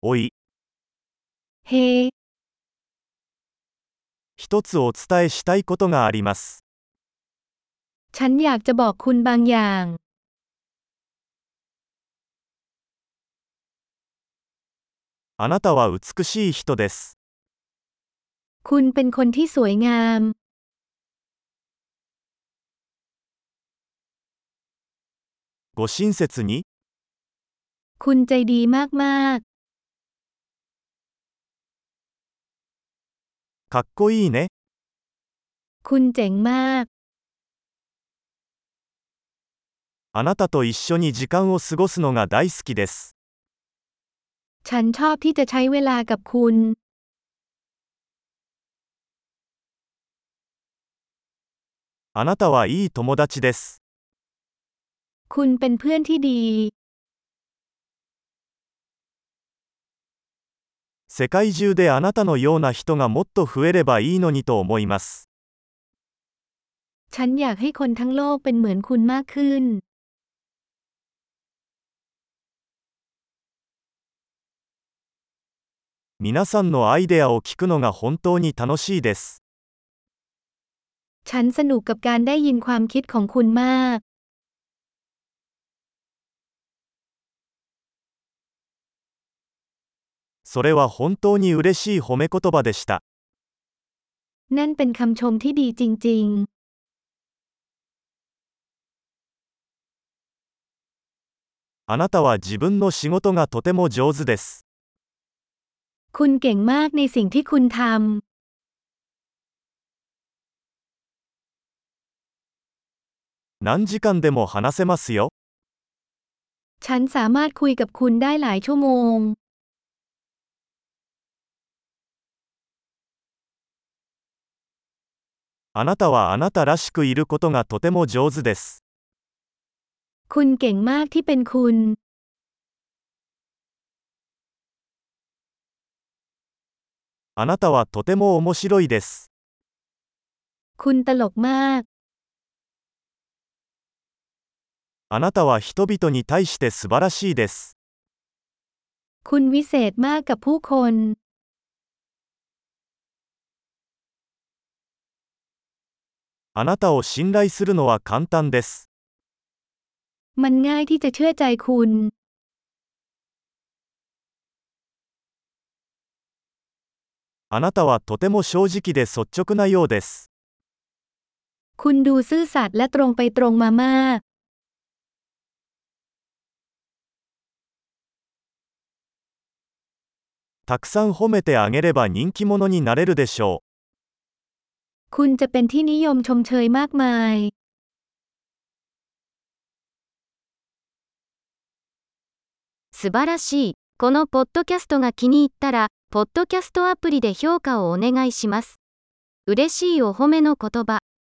おい、 เฮ้一つお伝えしたいことがあります。 ฉันอยากจะบอกคุณบางอย่างあなたは美しい人です。 คุณเป็นคนที่สวยงามご親切に、 คุณใจดีมากかっこいいね。 ๆ คุณเจ๋งมากあなたと一緒に時間を過ごすのが大好きです。 ฉันชอบที่จะใช้เวลากับคุณあなたはいい友達です。 คุณเป็นเพื่อนที่ดี世界中であなたのような人がもっと増えればいいのにと思います。 ฉันอยากให้คนทั้งโลกเป็นเหมือนคุณมากขึ้น皆さんのアイデアを聞くのが本当に楽しいです。 ฉันสนุกกับการได้ยินความคิดของคุณมากそれは本当に嬉しい褒め言葉でした。 นั่นเป็นคำชมที่ดีจริงあなたは自分の仕事がとても上手です。 ๆ คุณเก่งมากในสิ่งที่คุณทำ何時間でも話せますよ。 ฉันสามารถคุยกับคุณได้หลายชั่วโมงあなたはあなたらしくいることがとても上手です。 คุณเก่งมากที่เป็นคุณあなたはとても面白いです。 คุณตลกมากあなたは人々に対して素晴らしいです。 คุณวิเศษมากกับผู้คนあなたを信頼するのは簡単です。 มันง่ายที่จะเชื่อใจคุณあなたはとても正直で率直なようです。 คุณดูซื่อสัตย์และตรงไปตรงมามากたくさん褒めてあげれば人気者になれるでしょคุณจะเป็นที่นิยมชมเชยมากมาย素晴らしい。このポッドキャストが気に入ったら、ポッドキャストアプリで評価をお願いします。嬉しいお褒めの言葉。